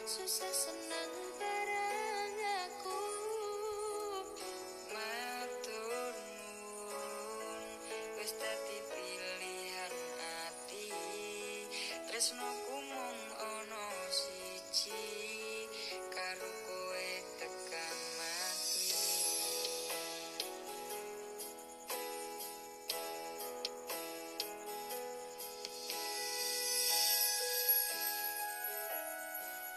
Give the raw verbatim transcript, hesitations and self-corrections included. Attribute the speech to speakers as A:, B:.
A: susah senang bareng aku. Matur nuwun wis dadi